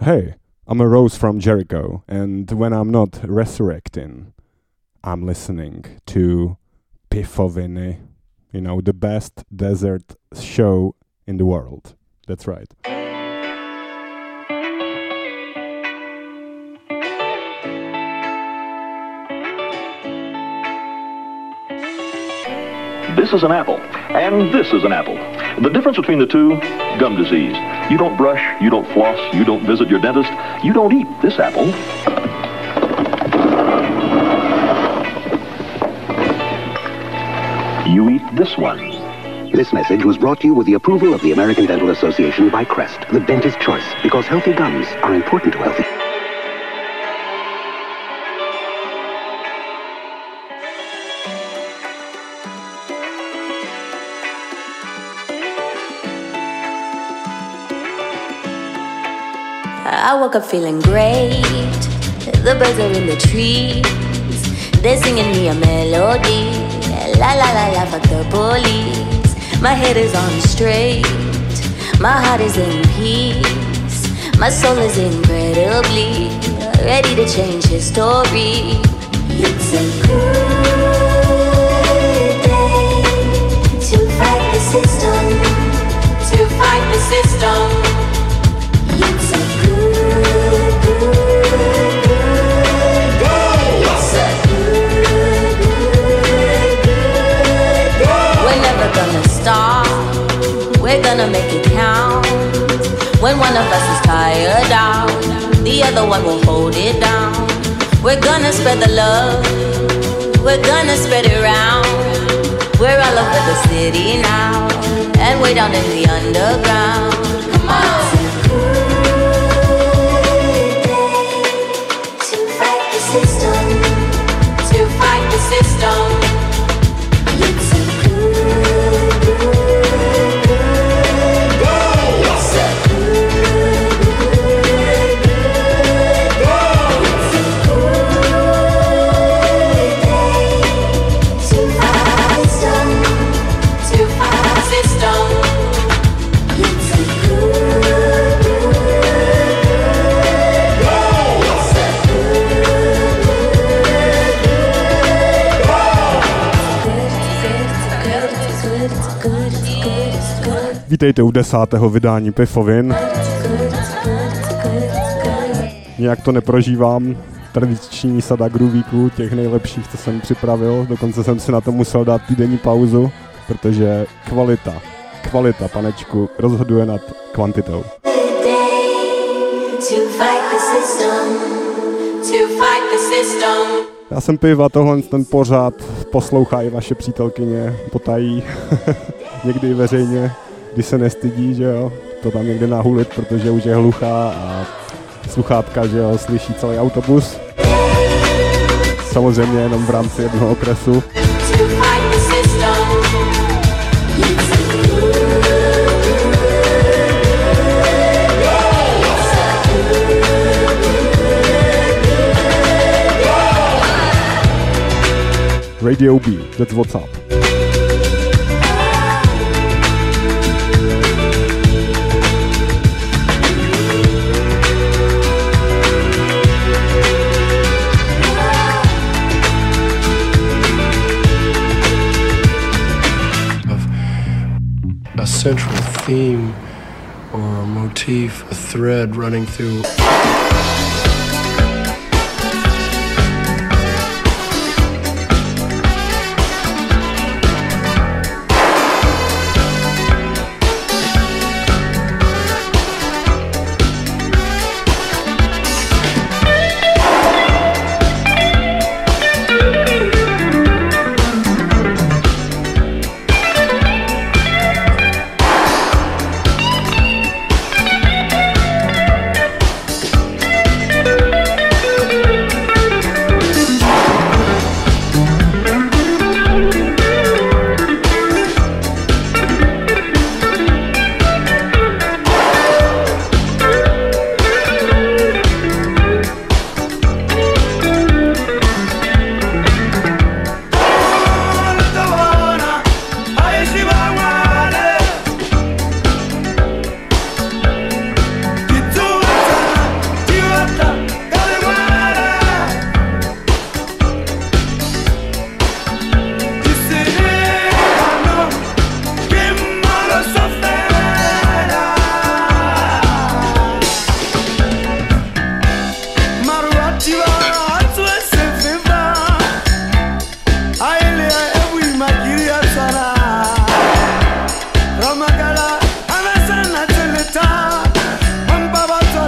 Hey, I'm a Rose from Jericho, and when I'm not resurrecting, I'm listening to Pifoviny, you know, the best desert show in the world. That's right. This is an apple, and this is an apple. The difference between the two, gum disease. You don't brush, you don't floss, you don't visit your dentist, you don't eat this apple. You eat this one. This message was brought to you with the approval of the American Dental Association by Crest, the dentist's choice, because healthy gums are important to healthy. I woke up feeling great. The birds are in the trees. They're singing me a melody. La la la la, fuck the police. My head is on straight. My heart is in peace. My soul is incredibly ready to change history. It's a good day to fight the system. To fight the system. It's a good day. It's a good day. We're never gonna stop. We're gonna make it count. When one of us is tired out, the other one will hold it down. We're gonna spread the love. We're gonna spread it around. We're all over the city now, and way down in the underground. Come on. To fight the system. It's a good day. It's a good day. It's a good day to fight the system. To fight the system. It's a good Vítejte u 10. vydání Pifovin. Nějak to neprožívám. Tradiční sada groovíků, těch nejlepších, co jsem připravil. Dokonce jsem si na to musel dát týdenní pauzu, protože kvalita, panečku, rozhoduje nad kvantitou. Já jsem Piv a tohle ten pořád poslouchá i vaše přítelkyně, potají, někdy i veřejně, když se nestydí, že jo, to tam někde nahulit, protože už je hluchá a sluchátka, že jo, slyší celý autobus. Samozřejmě jenom v rámci jednoho okresu. Radio B, that's what's up. A central theme or a motif, a thread running through.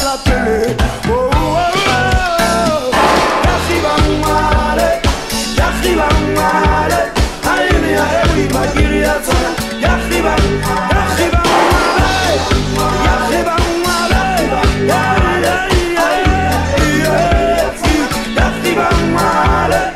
la télé. Oh, oh, oh. Yachiba male, yachiba male. Ayini ya ewi magiri ya sana. Yachiba, yachiba male, yachiba male. Yachiba male.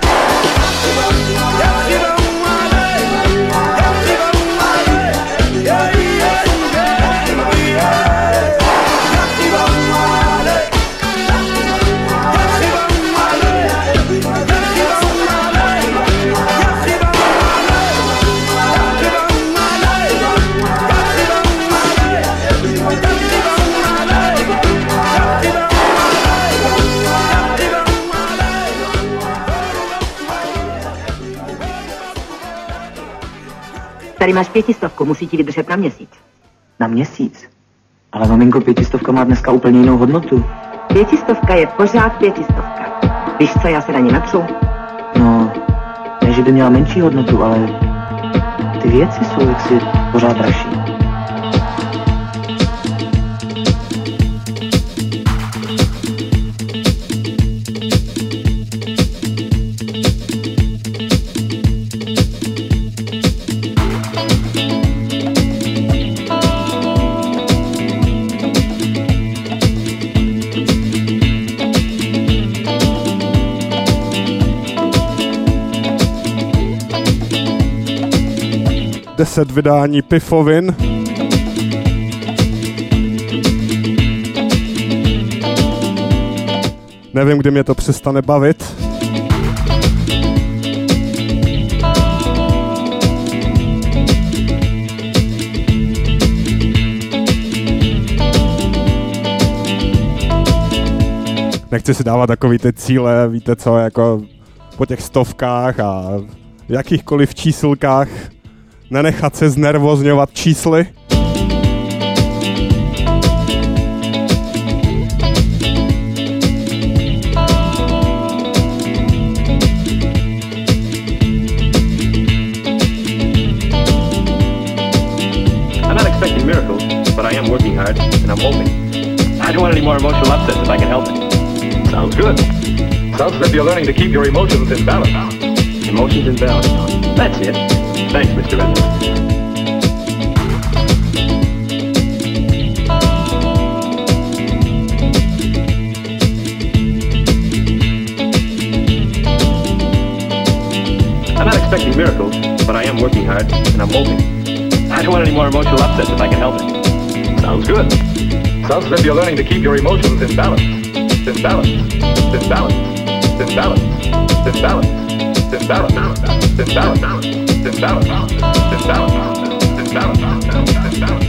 Tady máš 500, musí ti vydržet na měsíc. Na měsíc? Ale maminko, 500 má dneska úplně jinou hodnotu. 500 je pořád 500. Víš co, já se na ní natřu. No, ne, že by měla menší hodnotu, ale ty věci jsou jaksi pořád dražší. Deset vydání Pifovin. Nevím, kdy mě to přestane bavit. Nechci si dávat takový ty cíle, víte co, jako po těch stovkách a jakýchkoliv čísilkách. Nenechat se znervozňovat čísly. I'm not expecting miracles, but I am working hard, and I'm hoping. I don't want any more emotional upsets if I can help it. Sounds good. Sounds as if you're learning to keep your emotions in balance. Emotions in balance. That's it. Thanks, Mr. Evans. I'm not expecting miracles, but I am working hard, and I'm hoping. I don't want any more emotional upsets if I can help it. Sounds good. Sounds as if you're learning to keep your emotions in balance. In balance. In balance. In balance. In balance. In balance. In balance. In balance. In balance. In balance.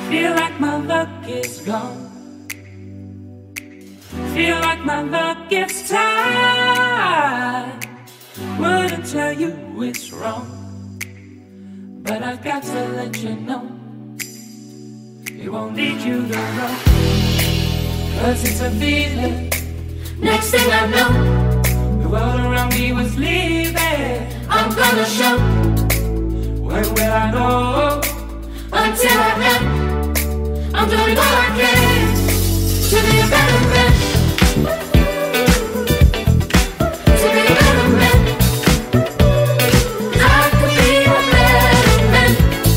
Feel like my luck is gone. Feel like my luck gets tired. Wouldn't tell you it's wrong, but I've got to let you know it won't lead you the road. 'Cause it's a feeling. Next thing I know, the world around me was leaving. I'm gonna show. When will I know? Until I am. I'm doing all I can to be a better man. To be a better man. I could be a better man.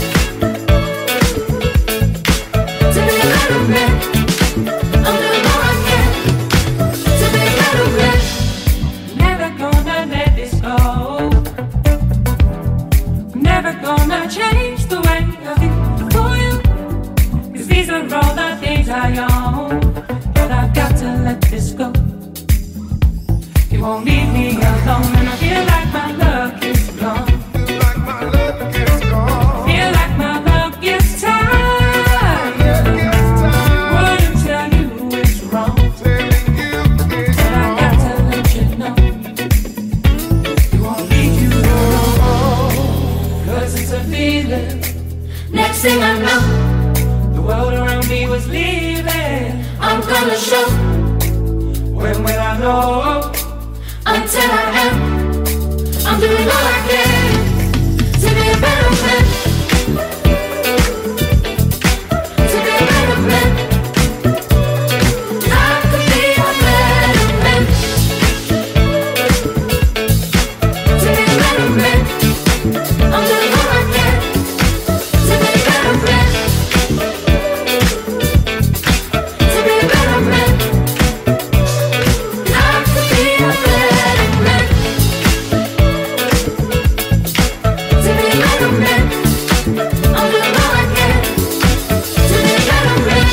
To be a better man. I'm doing all I can to be a better man. Never gonna let this go. Never gonna change the way I feel for you. 'Cause these are all the things I own. But I've got to let this go. You won't leave me alone. And I feel like my luck is gone. Feel like my luck is tired. Wouldn't tell you it's wrong, but I've got to let you know it won't lead you alone. 'Cause it's a feeling. Next thing I know, the world around me was leaving. I'm gonna show. When will I know? Until I am. I'm doing all I can to be a better man. To be a better man. I could be a better man. To be a better man. I'm doing all I can to be a better man. To be a better man. I could be a better man. To be a better man. I'm doing all I can to be a better man.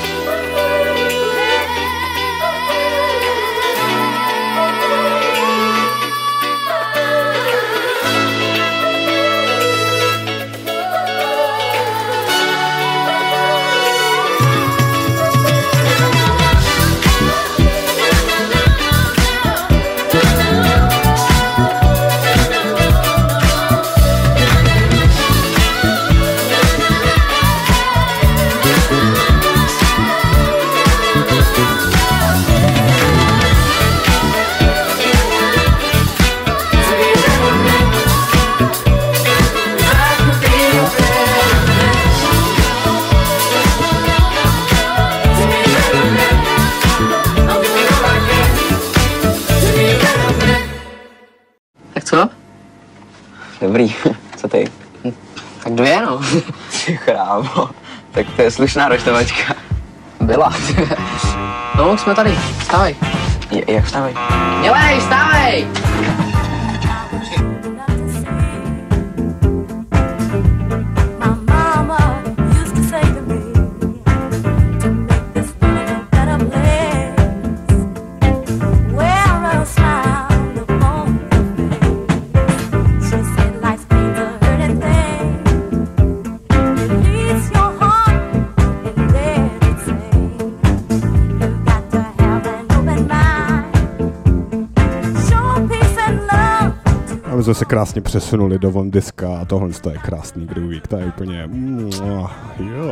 Tak co? Dobrý, co ty? Tak 2, no. Ty chrámo, tak to je slušná roštovačka. Byla. No, už jsme tady. Vstávej. Jak vstávej? Dělej, vstávej! Jsme se krásně přesunuli do Von Diska a tohle je krásný groovík, to je úplně jo.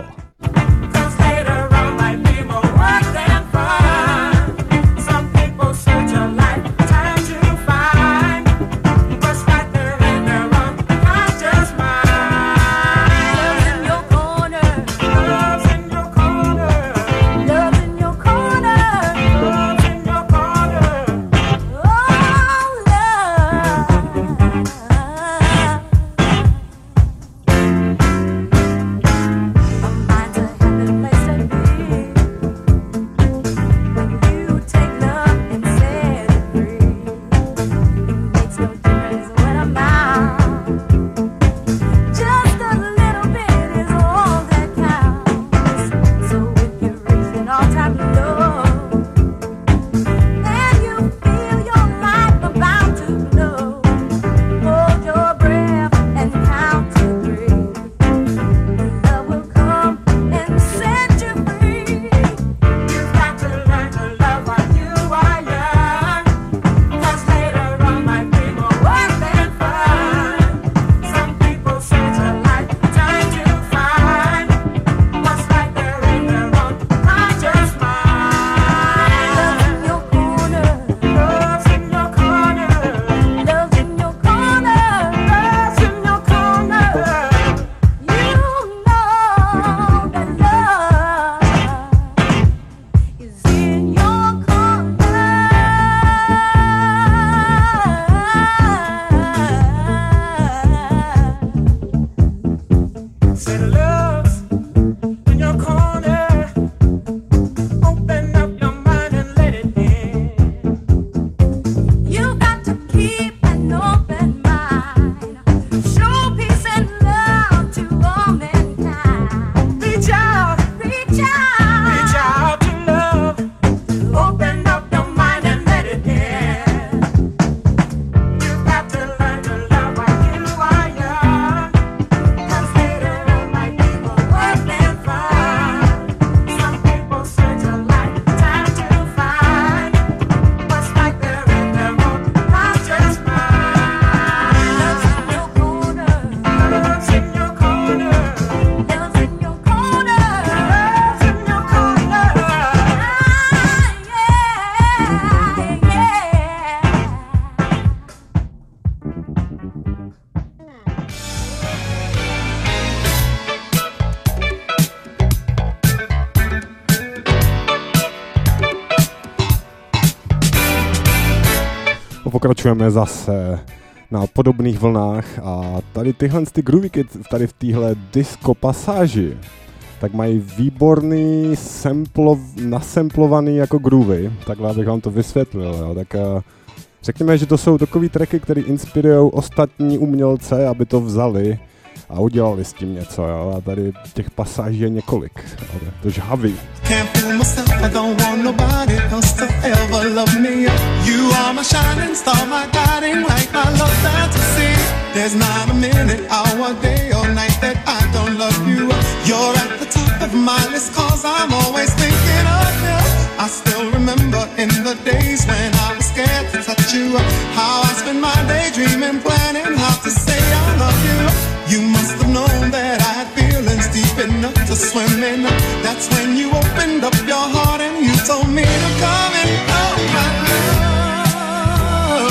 pokračujeme zase na podobných vlnách a tady tyhle groovíky tady v téhle disco pasáži tak mají výborný nasemplovaný jako groovy, takhle abych vám to vysvětlil, jo. Tak řekněme, že to jsou takový tracky, které inspirují ostatní umělce, aby to vzali a udělali s tím něco, jo. A tady těch pasáží je několik, to žhavý. Can't fool myself, I don't want nobody else to ever love me. You are my shining star, my guiding light, my love fantasy. There's not a minute, hour, day or night that I don't love you. You're at the top of my list, cause I'm always thinking of you. I still remember in the days when I was scared to touch you, how I spent my day dreaming, planning how to say I love you. You must have known that I had feelings deep enough to swim in. That's when you opened up your heart and you told me to come in. Oh my love,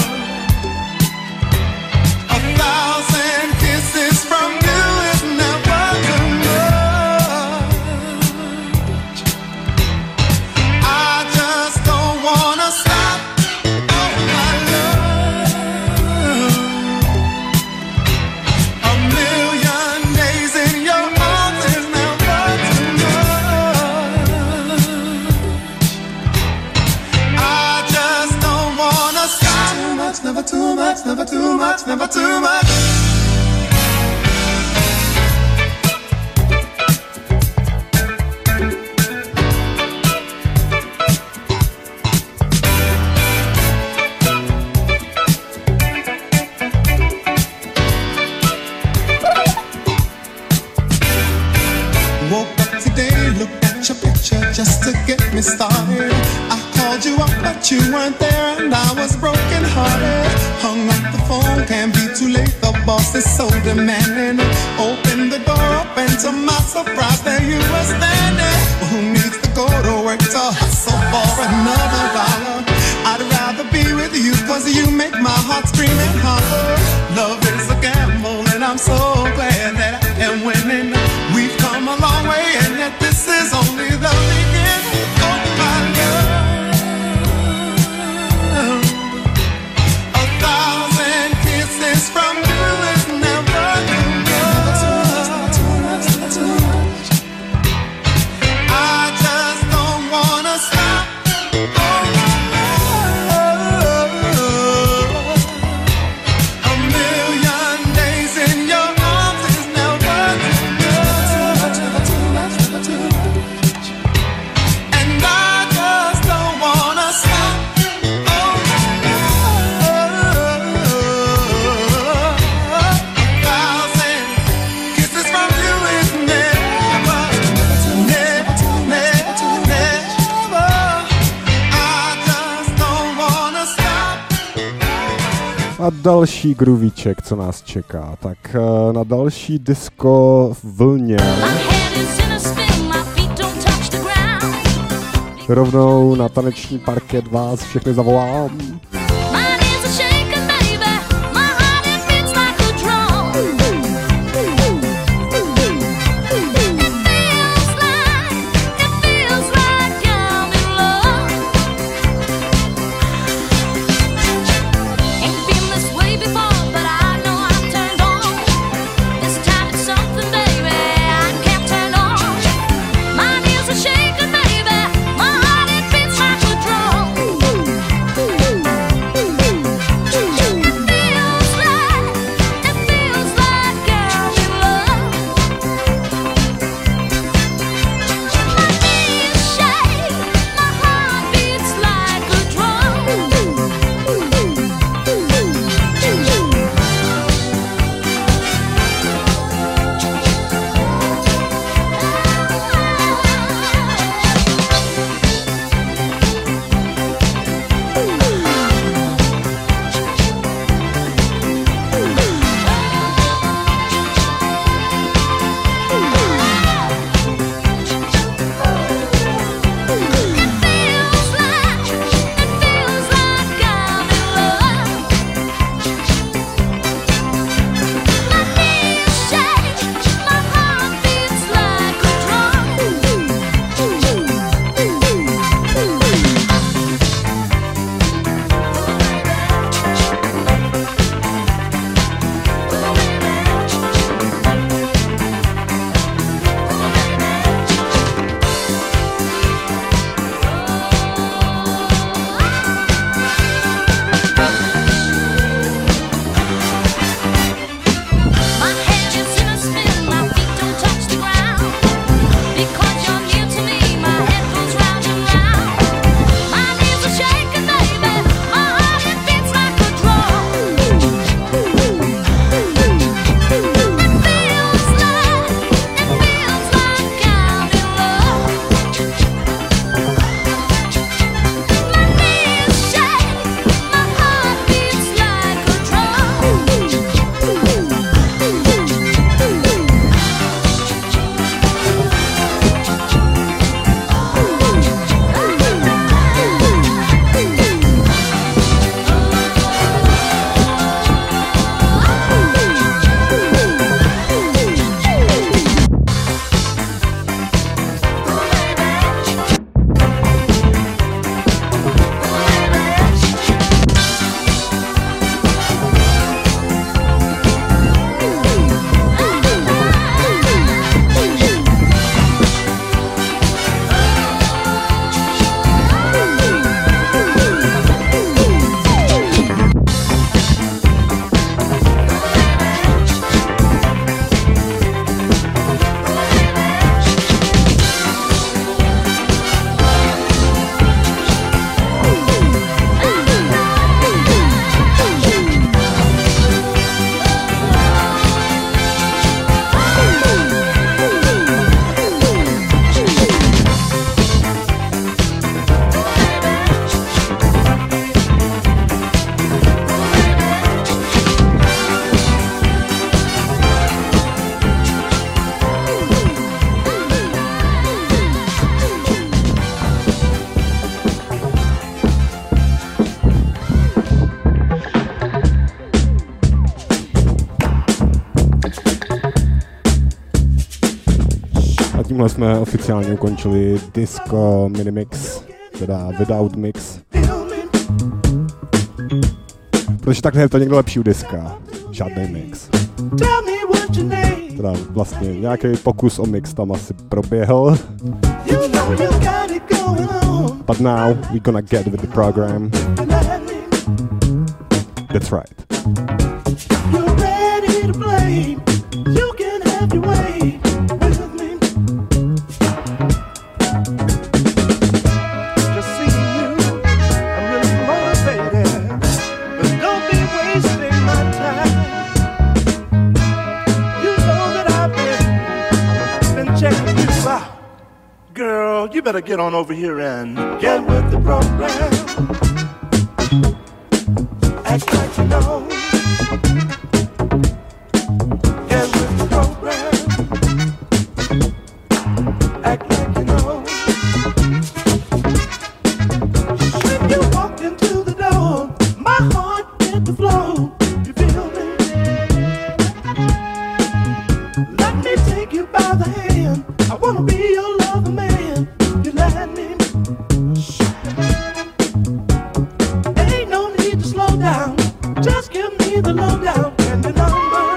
1,000 kisses from you is never too much. I just don't wanna stop. Oh my love, a million days in your arms is never too much. I just don't wanna stop. Too much, never too much, never too much, never too much. Woke up today, looked at your picture just to get me started. I called you up, but you weren't there, and I was broken hearted. Hung up the phone, can't be too late. The boss is so demanding. Opened the door up, and to my surprise, there you were standing. Well, who needs to go to work to hustle for another dollar? I'd rather be with you, cause you make my heart scream and holler. Love is a gamble, and I'm so glad that I am winning. We've come a long way, and yet this is only the beginning. Oh my love, 1,000 kisses from you is never too much. I just don't wanna stop. Oh my love, a million days in your arms is never too much. And I just don't wanna stop. Oh my love, 1,000 kisses from you is never, never, never, never. I just don't wanna stop. A další groovíček, co nás čeká, tak na další disco vlně rovnou na taneční parket vás všechny zavolám. Shaking, baby, my heart it beats like a drum. tímhle jsme oficiálně ukončili disco minimix, teda without mix. Protože takhle je to někdo lepší u diska, žádný mix. Teda vlastně nějaký pokus o mix tam asi proběhl. But now we're gonna get with the program. That's right. You're ready to play. You can have your way with me. Just seeing you, I'm really motivated. But don't be wasting my time. You know that I've been checking you out. Girl, you better get on over here and get with the program. Act like you know. Get with the program. Act like you know. When you walked into the door, my heart hit the floor. You feel me? Let me take you by the hand. I wanna be your lover man. You let me. Ain't no need to slow down. Just give me the lowdown and the number.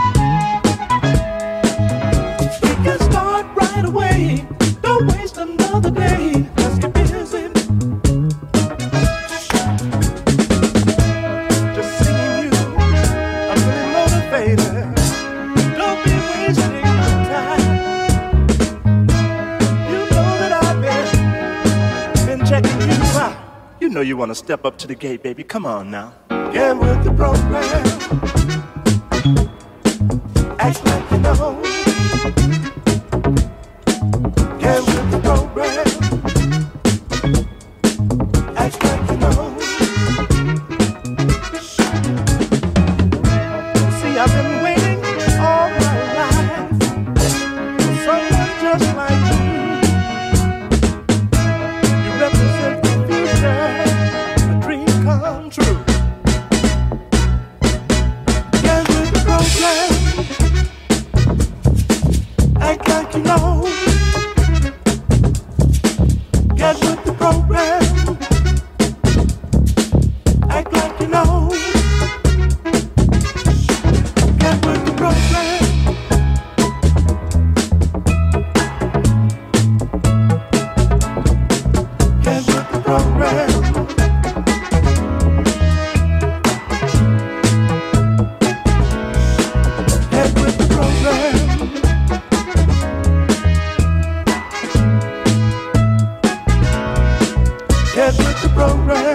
We can start right away. Don't waste another day. Let's get busy. Just seeing you, I'm really motivated. Don't be wasting my time. You know that I've been checking you out. You know you want to step up to the gate, baby. Come on now. Get with the program. Act like you know. Get with the program. Act like you know. See, I've been waiting all my life for someone just like you. You represent the future, a dream come true. Get with the program. Act like you know. Get with the program. Act like you know. Get with the program. Get with the program. Get with the program. Get with the program.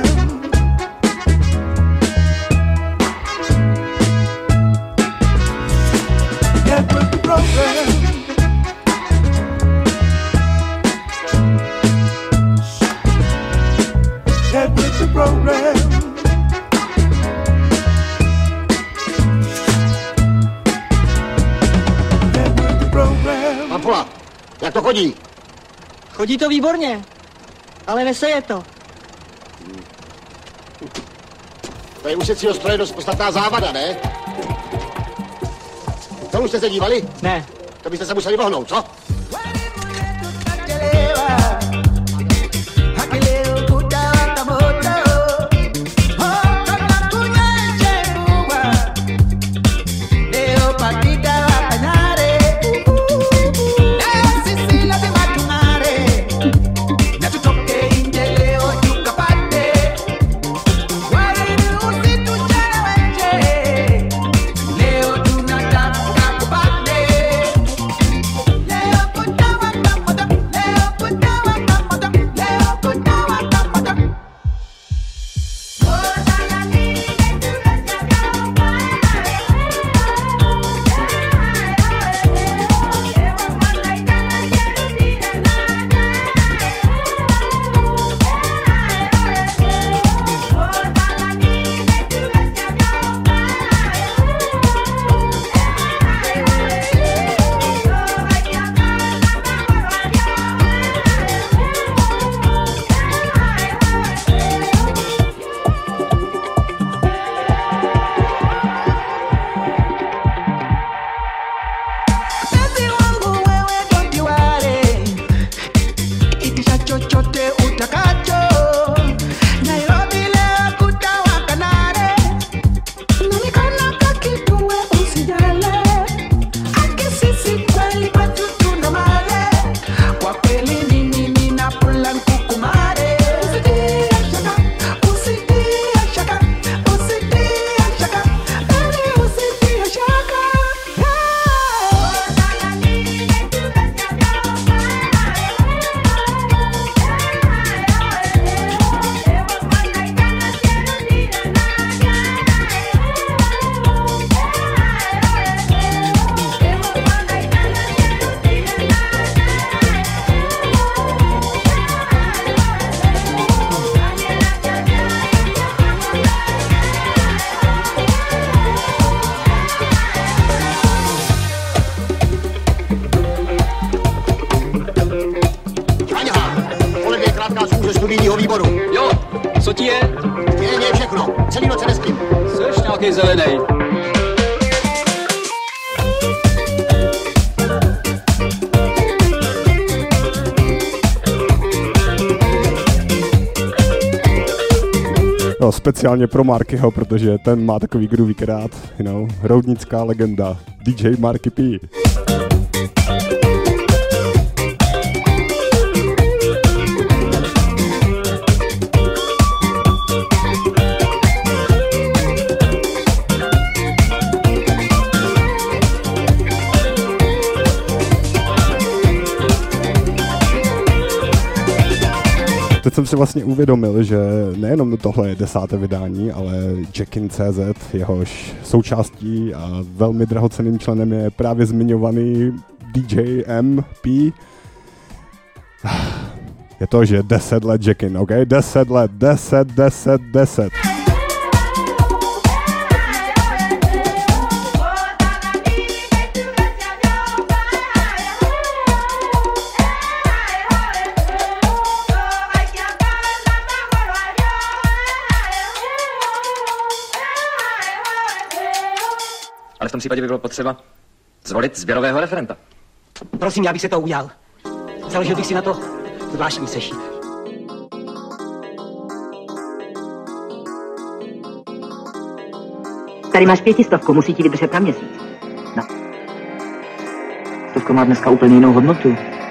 Get with the program. Get with the program. Get with the program. Papula, jak to chodí? Chodí to výborně, ale neseje to. To je u secího stroje dost podstatná závada, ne? To už jste se dívali? Ne. To byste se museli vohnout, co? Leo tunataka kupate studijního výboru. Jo, co ti je? Je všechno. Celý noc nespím. Jseš nějaký zelenej. Jo, speciálně pro Markyho, protože ten má takový groovy krát, roudnická legenda, DJ Marky P. Teď jsem si vlastně uvědomil, že nejenom tohle je 10. vydání, ale Jackin.cz, jehož součástí a velmi drahocenným členem je právě zmiňovaný DJ MP. Je to, že 10 let Jackin, ok? 10 let, 10. Ale v tom případě by bylo potřeba zvolit sběrového referenta. Prosím, já bych se to udělal. Založil bych si na to zvláštní sešit. Tady máš 500, musí ti vydržet na měsíc. No. 100 má dneska úplně jinou hodnotu.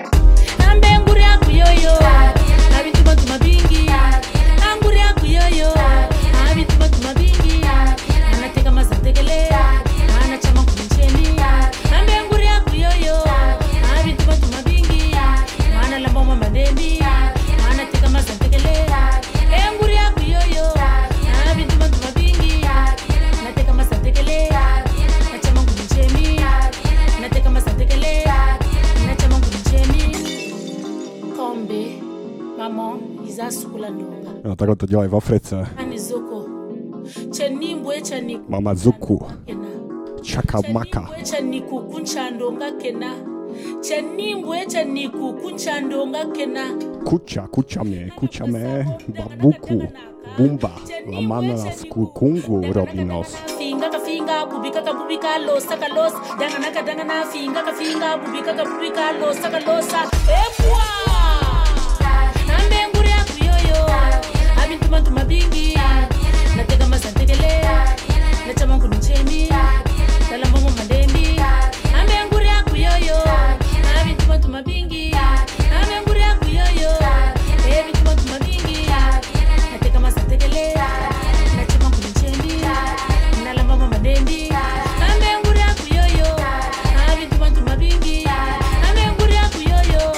No, takhle to dělají v Africe. Mama Zuku. Chaka Maka. Kucha me, babuku, bumba, la mana kungu robinos. Finga, bubika, los, saka los, dangana, finga, bubika, los, saka losa, Tuma bingi, nateka masantekele, nachama kunichemi, talamba madendi, amenguri akuyoyo, abi tuma bingi, amenguri akuyoyo, ebi tuma bingi, nateka masantekele, nachama kunichemi, talamba madendi, amenguri akuyoyo, abi tuma bingi, amenguri akuyoyo.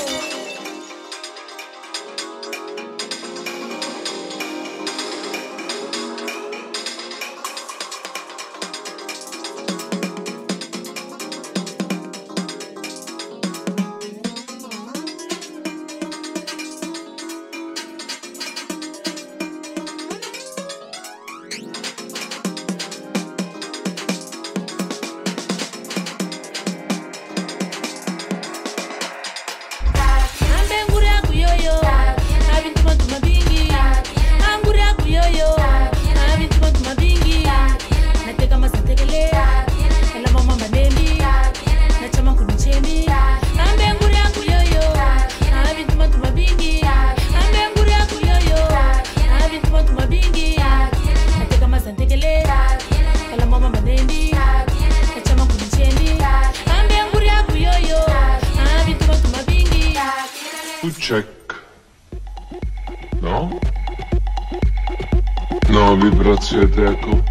No, vy pracujete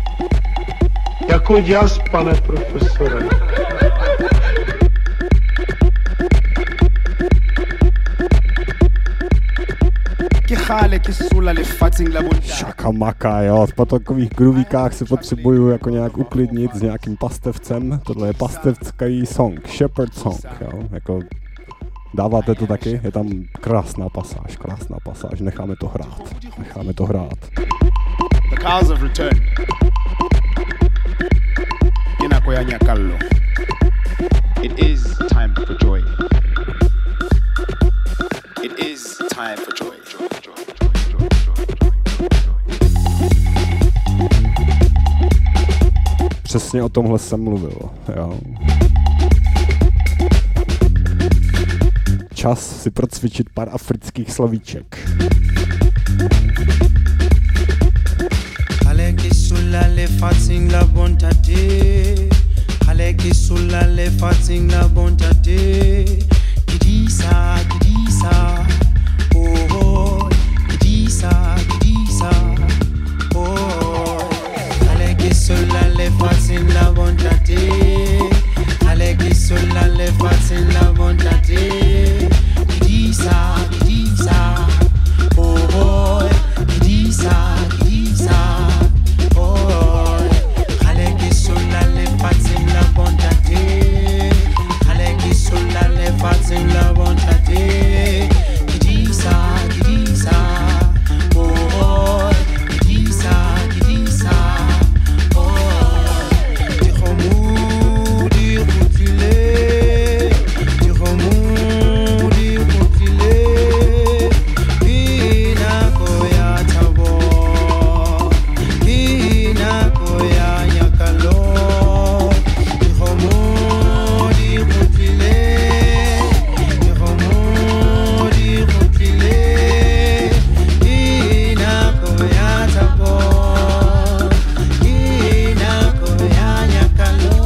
jako jazz, pane profesore. Chaka Maka, jo, po takových groovíkách se potřebuju jako nějak uklidnit s nějakým pastevcem. Tohle je pastevský song, shepherd song, jo, jako dáváte to taky, je tam krásná pasáž, necháme to hrát. The cars have returned. Inakoyanya Kallo. It is time for joy. It is time for joy. Přesně o tomhle jsem mluvil, jo. Čas si procvičit pár afrických slovíček. Haleki sulla le fatsing la bontate. Haleki sulla le fatsing la bontate. Gidisa, gidisa, oh, gidisa, gidisa, oh. Haleki sulla le fatsing la bontate. Haleki sulla le fatsing la bontate. Gidisa, gidisa, oh, gidisa, gidisa, oh. Haleki sulla le fatsing la bontate. Haleki sulla le fatsing la bontate. Gidisa, gidisa, oh, gidisa, gidisa, oh. Dirons-nous, dire-tu-les, dirons-nous, dire-tu-les, Ina koya tabo, Ina koya yakalo, dirons-nous, dire-tu-les, dirons-nous, dire-tu-les, Ina koya tabo, Ina koya yakalo.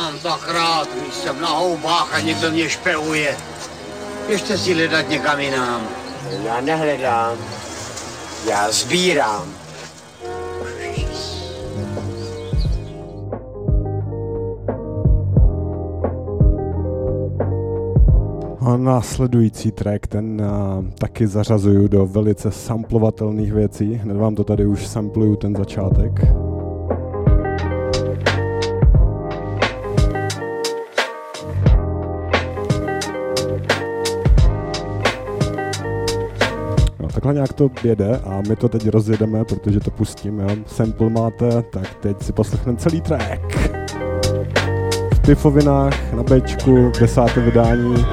mám tak rád, když jsem na houbách a někdo mě špeuje. Běžte si hledat někam jinam. Já nehledám, já sbírám. A následující track, ten taky zařazuju do velice samplovatelných věcí. Hned vám to tady už sampluju, ten začátek. No, takhle nějak to jede a my to teď rozjedeme, protože to pustíme. Sample máte, tak teď si poslechneme celý track. V Pifovinách na Bčku, 10. vydání.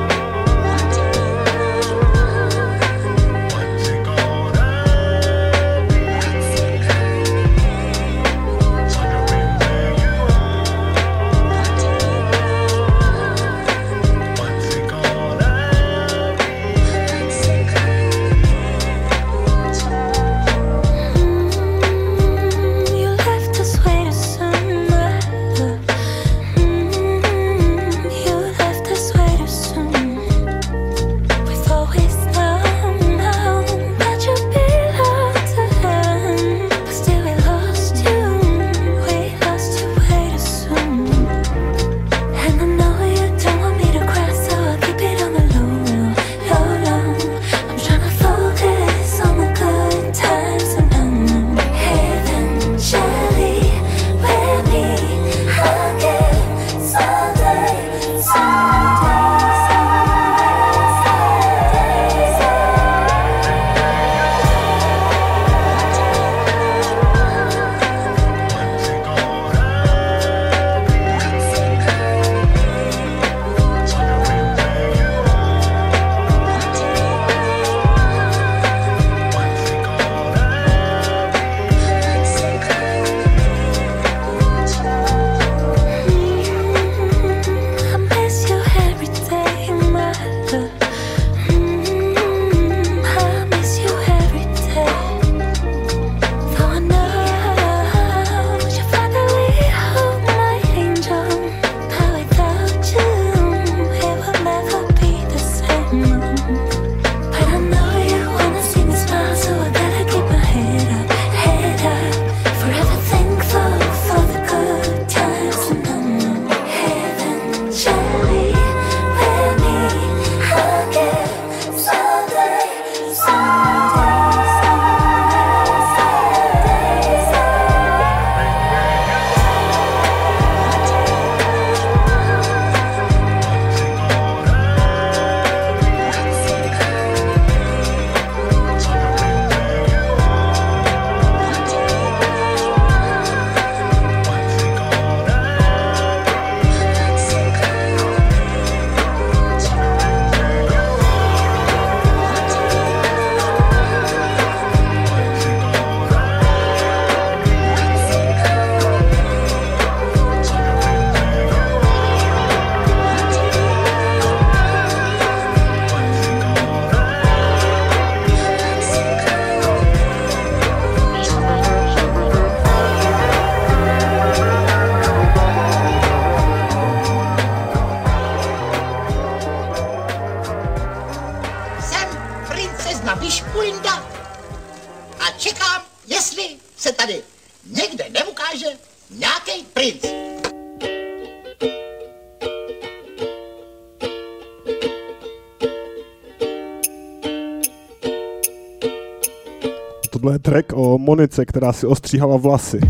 Tohle je track o Monice, která si ostříhala vlasy.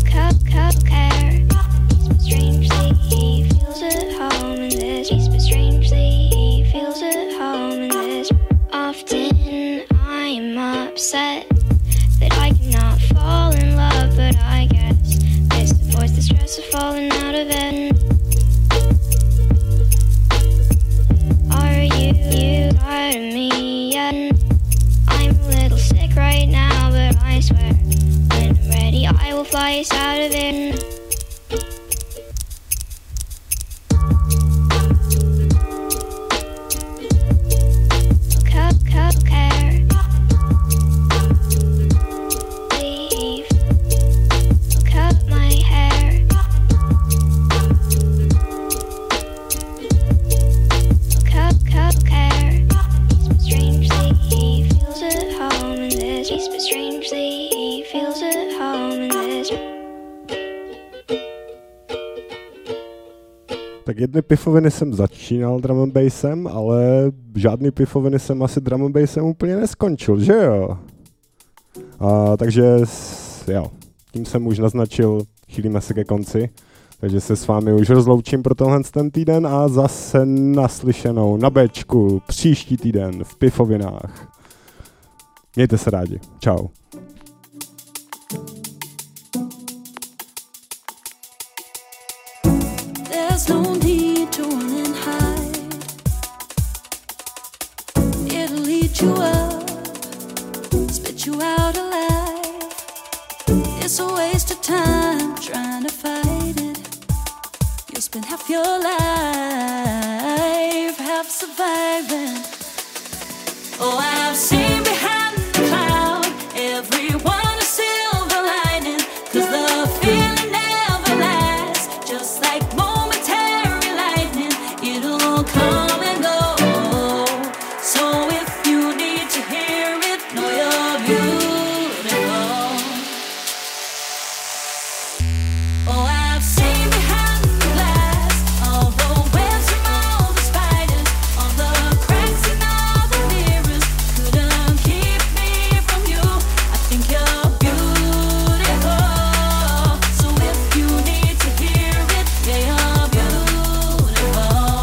Strangely, he feels at home in this. But strange upset that I cannot fall in love, but I guess this avoids the stress of falling out of it. Are you tired of me yet? I'm a little sick right now, but I swear when I'm ready I will fly us out of it. Tak jedny pifoviny jsem začínal drum and bassem, ale žádný pifoviny jsem asi drum and bassem úplně neskončil, že jo? Takže jo, tím jsem už naznačil, chýlíme se ke konci, takže se s vámi už rozloučím pro tenhle ten týden a zase naslyšenou na Bčku příští týden v pifovinách. Mějte se rádi, čau. There's no need to run and hide. It'll eat you up, spit you out alive. It's a waste of time trying to fight it. You'll spend half your life half surviving. Oh, I've seen behind the cloud everyone a silver lining, 'cause the feeling never lasts, just like momentary lightning, it'll come and go. So if you need to hear it, know you're beautiful. Oh, I've seen behind the glass all the webs from all the spiders, all the cracks in all the mirrors, couldn't keep me from you. I think you're beautiful. So if you need to hear it, yeah, you're beautiful.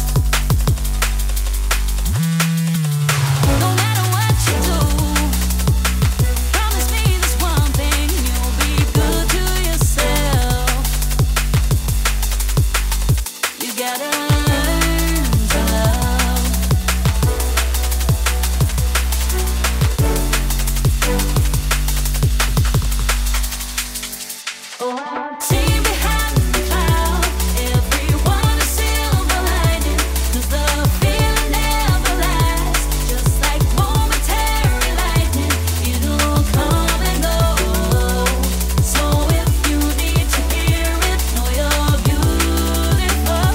No matter what you do, promise me this one thing, you'll be good to yourself. You gotta learn to love. Oh, I've seen behind the cloud everyone a silver lining, 'cause the feeling never lasts, just like momentary lightning, it'll come and go. So if you need to hear it, know you're beautiful.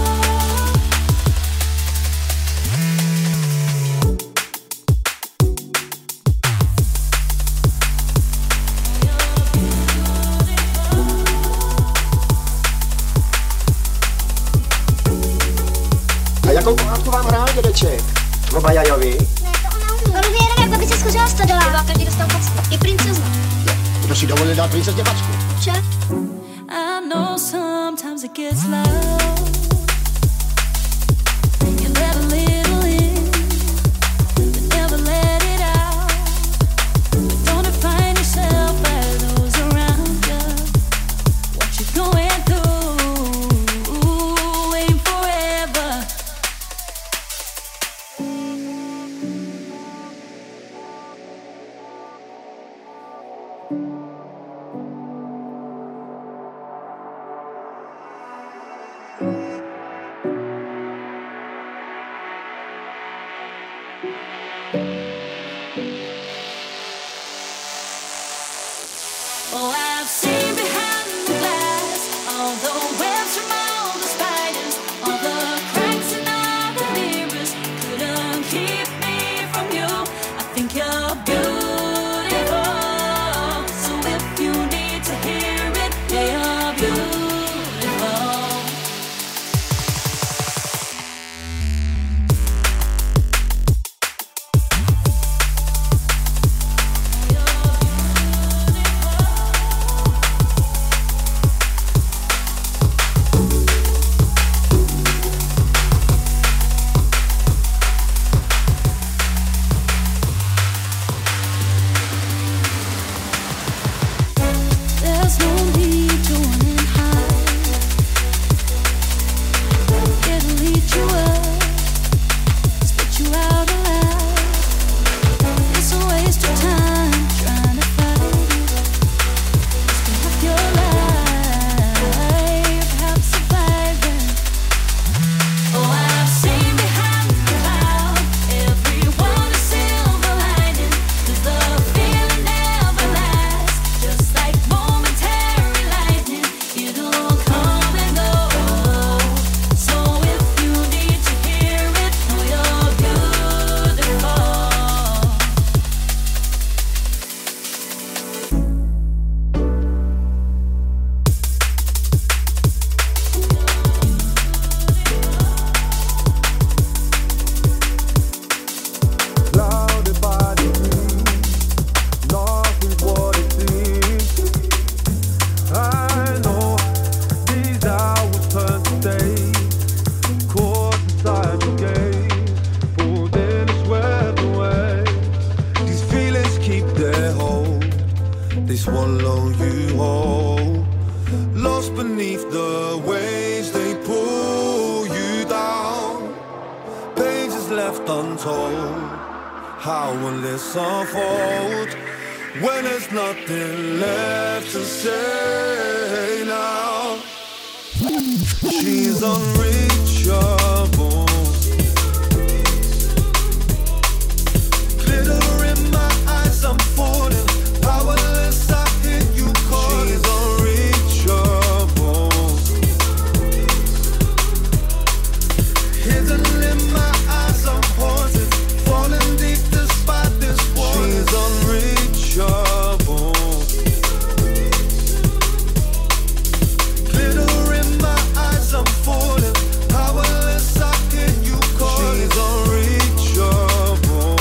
A jakou pohádku vám hrál dědeček? O Bajajovi? On umí jenom, jak babice skořila stodola. A každý dostal facku. I princezna. Kdo si dovolil dát princezně facku? Če? I know sometimes it gets loud. You let a little in, but never let it out. But don't define yourself by those around you. What you're going through ain't forever. Oh, I've seen behind the glass all the webs from all the spiders, all the cracks in all the mirrors, couldn't keep me from you. I think you're beautiful. So swallow you whole. Lost beneath the waves, they pull you down. Pages left untold, how will this unfold when there's nothing left to say now? She's unreachable. Glitter in my eyes, I'm falling. Powerless, I hear you calling. She's unreachable. Hidden in my eyes, I'm haunted. Falling deep despite this water. She's unreachable. Glitter in my eyes, I'm falling. Powerless, I hear you calling. She's unreachable.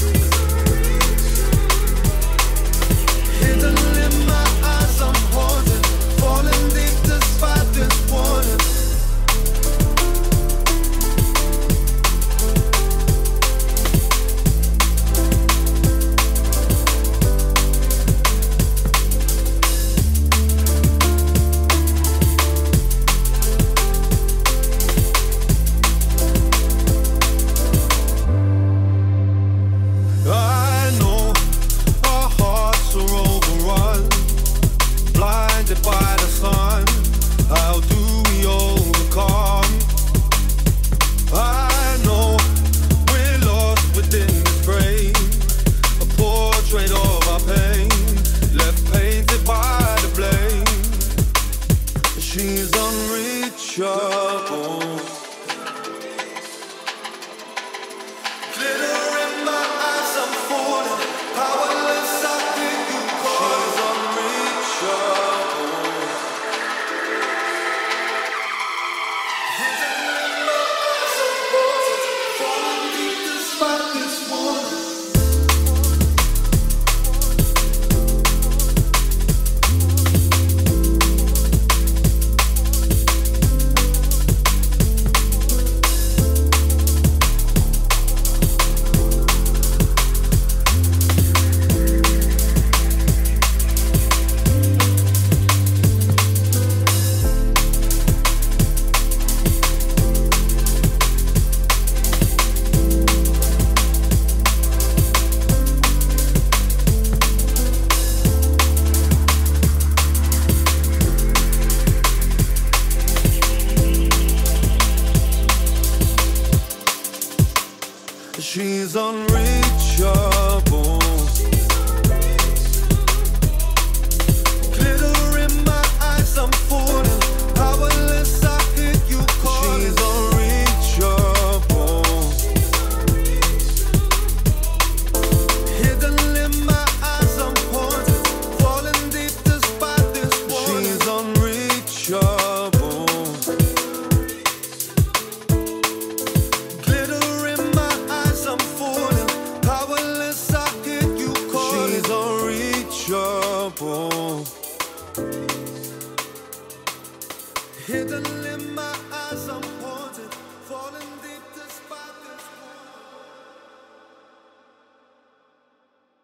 Hidden in my eyes, I'm haunted. Falling deep despite this warning. I know our hearts are overrun, blinded by the sun. How do we overcome? I know we're lost within this frame, a portrait of our pain, left painted by the blame. She's unreachable. Glitter in my eyes, I'm falling. Powerless, I hear you call. She's unreachable. Hidden in my eyes, I'm haunted. Falling deep despite this warning. She's unreachable. Glitter in my eyes, I'm falling. Powerless, I hear you calling. She's unreachable. Hidden in my eyes, I'm haunted. Falling deep despite this warning. She's unreachable. Glitter in my eyes, I'm falling. Powerless, I hear you calling. She's unreachable. Hidden in